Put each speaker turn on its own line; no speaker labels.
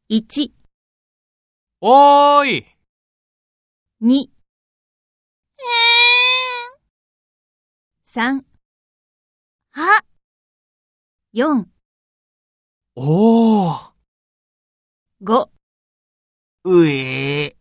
1、
おーい。
2、3、
あ、
4、
おー。
5
うえー。